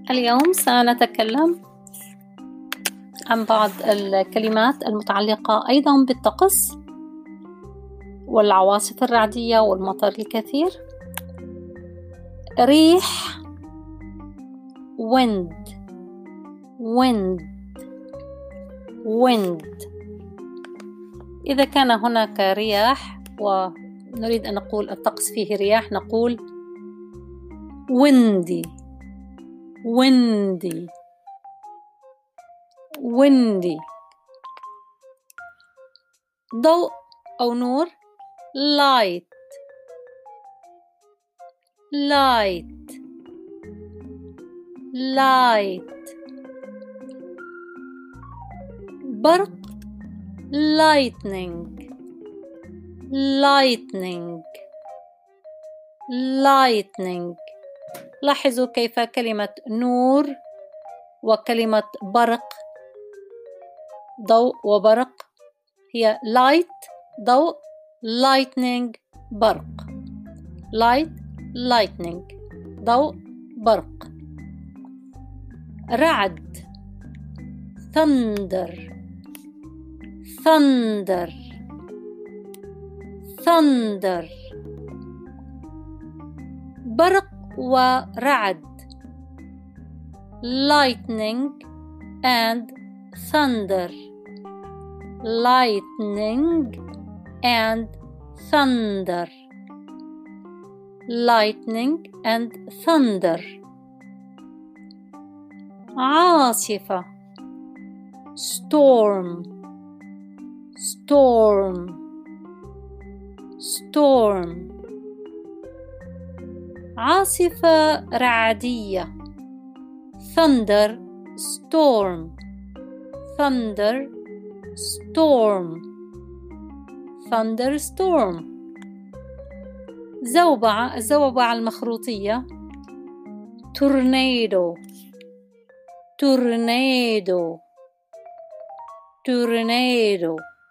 اليوم سنتكلم عن بعض الكلمات المتعلقة أيضا بالطقس والعواصف الرعدية والمطر الكثير. ريح wind wind wind. إذا كان هناك رياح ونريد أن نقول الطقس فيه رياح نقول windy windy windy. ضوء أو نور light light light. برق lightning lightning lightning. لاحظوا كيف كلمة نور وكلمة برق ضوء وبرق هي light ضوء lightning برق light lightning ضوء برق. رعد thunder thunder thunder. برق ورعد lightning and thunder lightning and thunder lightning and thunder. عاصفة storm storm storm. عاصفة رعدية thunder storm thunder storm thunderstorm. زوبعة الزوبعة المخروطية tornado tornado tornado.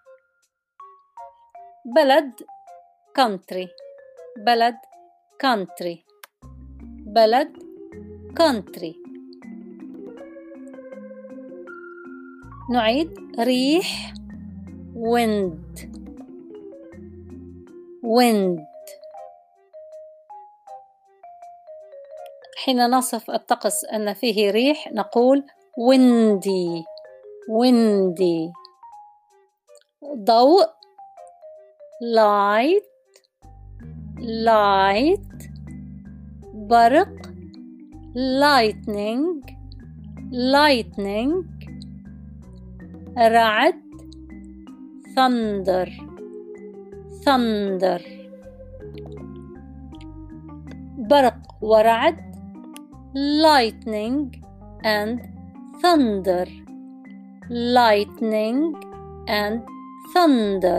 بلد country بلد country بلد country. نعيد ريح wind wind. حين نصف الطقس أن فيه ريح نقول windy windy. ضوء light light. برق lightning lightning. رعد thunder thunder. برق ورعد lightning and thunder lightning and thunder.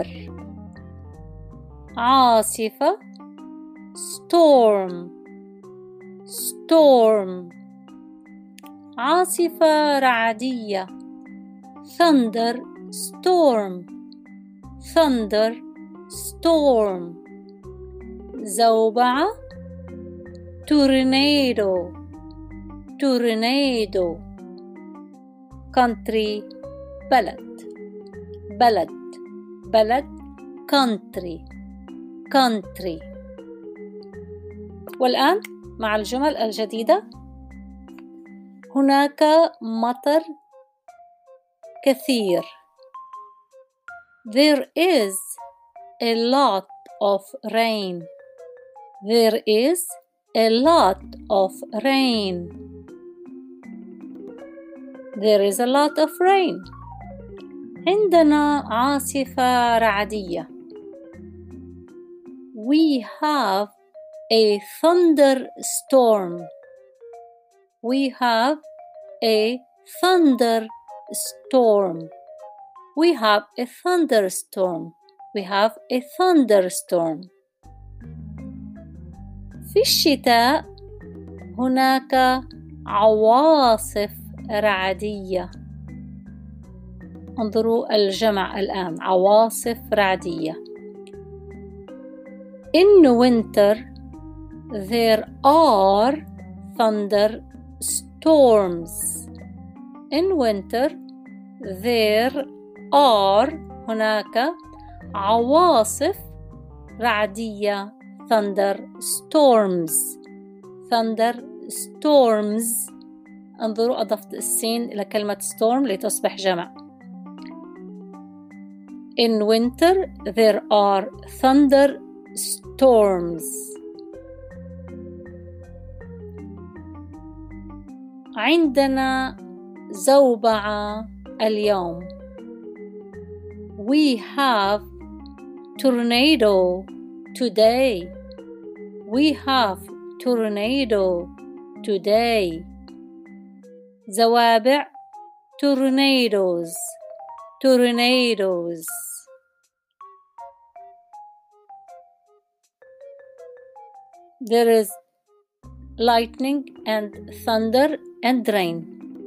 عاصفة storm storm. عاصفة رعدية thunder storm thunder storm. زوبعة tornado tornado. country بلد بلد بلد country country. والآن مع الجمل الجديدة. هناك مطر كثير there is a lot of rain there is a lot of rain there is a lot of rain. عندنا عاصفة رعدية we have a thunderstorm we have a thunderstorm we have a thunderstorm we have a thunderstorm. في الشتاء هناك عواصف رعدية. انظروا الجمع الآن عواصف رعدية. In winter there are thunderstorms storms. In winter there are هناك عواصف رعدية thunderstorms. thunderstorms. انظروا أضفت السين إلى كلمة storm لتصبح جمع. In winter there are thunderstorms. عندنا زوبعة اليوم. We have tornado today. We have tornado today. زوابع tornadoes. tornadoes. There is lightning and thunder and rain.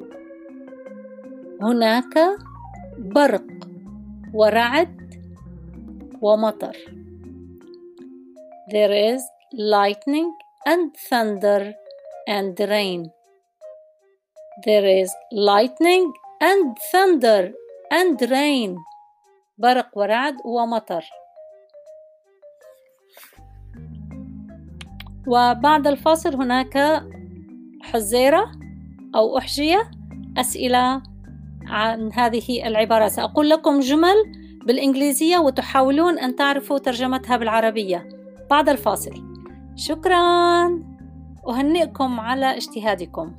هناك برق ورعد ومطر. There is lightning and thunder and rain. There is lightning and thunder and rain. برق ورعد ومطر. وبعد الفاصل هناك حزيرة أو أحجية أسئلة عن هذه العبارات. سأقول لكم جمل بالإنجليزية وتحاولون أن تعرفوا ترجمتها بالعربية بعد الفاصل. شكراً، أهنئكم على اجتهادكم.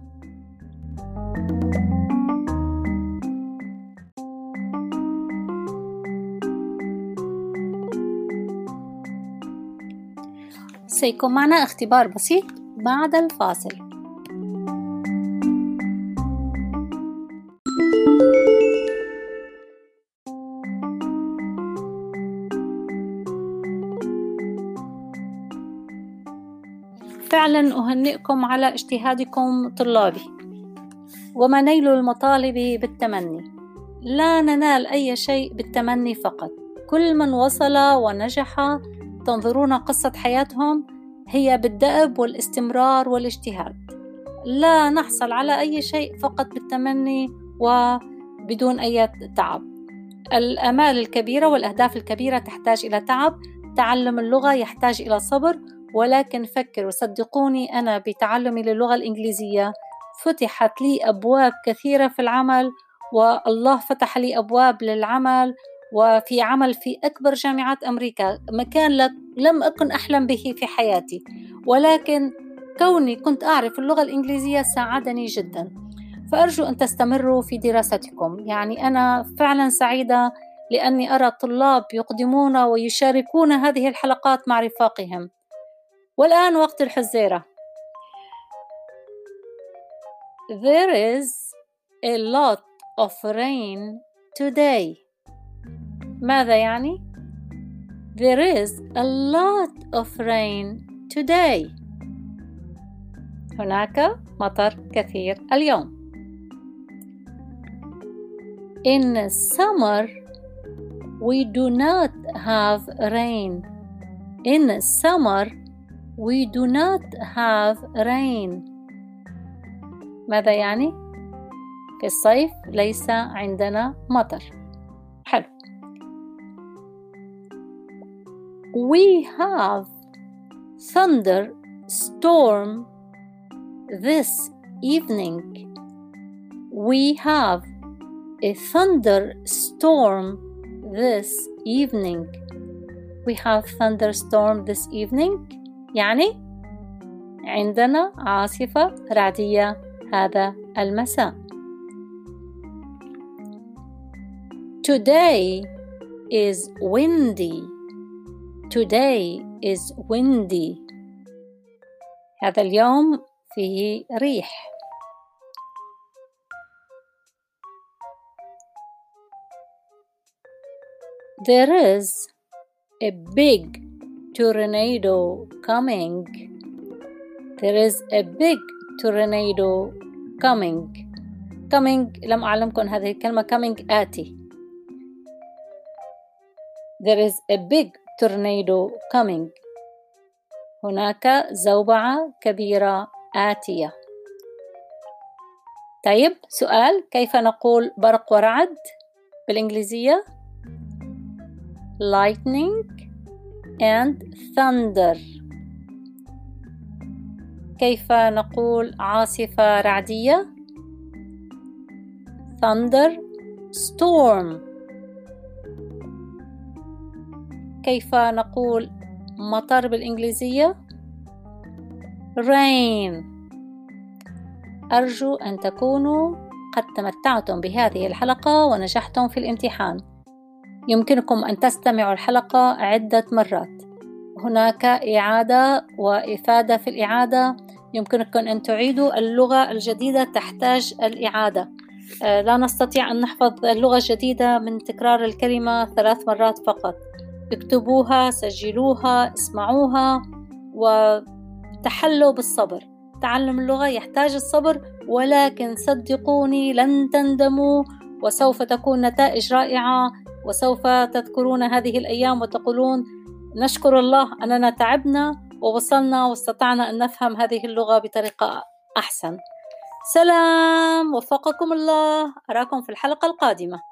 سيكون معنا اختبار بسيط بعد الفاصل. فعلا أهنئكم على اجتهادكم طلابي. وما نيل المطالب بالتمني. لا ننال أي شيء بالتمني فقط. كل من وصل ونجح تنظرون قصة حياتهم هي بالدأب والاستمرار والاجتهاد. لا نحصل على أي شيء فقط بالتمني وبدون أي تعب. الآمال الكبيرة والأهداف الكبيرة تحتاج إلى تعب. تعلم اللغة يحتاج إلى صبر، ولكن فكروا، صدقوني أنا بتعلمي للغة الإنجليزية فتحت لي أبواب كثيرة في العمل، والله فتح لي أبواب للعمل وفي عمل في أكبر جامعات أمريكا، مكان لم أكن أحلم به في حياتي، ولكن كوني كنت أعرف اللغة الإنجليزية ساعدني جدا. فأرجو أن تستمروا في دراستكم. يعني أنا فعلا سعيدة لأني أرى الطلاب يقدمون ويشاركون هذه الحلقات مع رفاقهم. والآن وقت الحزيرة. There is a lot of rain today. ماذا يعني؟ There is a lot of rain today. هناك مطر كثير اليوم. In summer we do not have rain. In summer we do not have rain. ماذا يعني؟ في الصيف ليس عندنا مطر. حلو. We have thunderstorm this evening. We have a thunderstorm this evening. We have thunderstorm this evening. يعني عندنا عاصفة رعدية هذا المساء. Today is windy. Today is windy. هذا اليوم فيه ريح. There is a big tornado coming. There is a big tornado coming. Coming لم أعلمكم هذه الكلمة. coming آتي. There is a big tornado coming. هناك زوبعة كبيرة آتية. طيب سؤال، كيف نقول برق ورعد بالإنجليزية؟ lightning and thunder. كيف نقول عاصفة رعدية؟ thunder storm. كيف نقول مطر بالإنجليزية؟ rain. أرجو أن تكونوا قد تمتعتم بهذه الحلقة ونجحتم في الامتحان. يمكنكم أن تستمعوا الحلقة عدة مرات. هناك إعادة وإفادة في الإعادة. يمكنكم أن تعيدوا اللغة الجديدة، تحتاج الإعادة. لا نستطيع أن نحفظ اللغة الجديدة من تكرار الكلمة 3 مرات فقط. اكتبوها، سجلوها، اسمعوها، وتحلوا بالصبر. تعلم اللغة يحتاج الصبر، ولكن صدقوني لن تندموا، وسوف تكون نتائج رائعة، وسوف تذكرون هذه الأيام وتقولون نشكر الله أننا تعبنا ووصلنا واستطعنا أن نفهم هذه اللغة بطريقة أحسن. سلام، وفقكم الله، أراكم في الحلقة القادمة.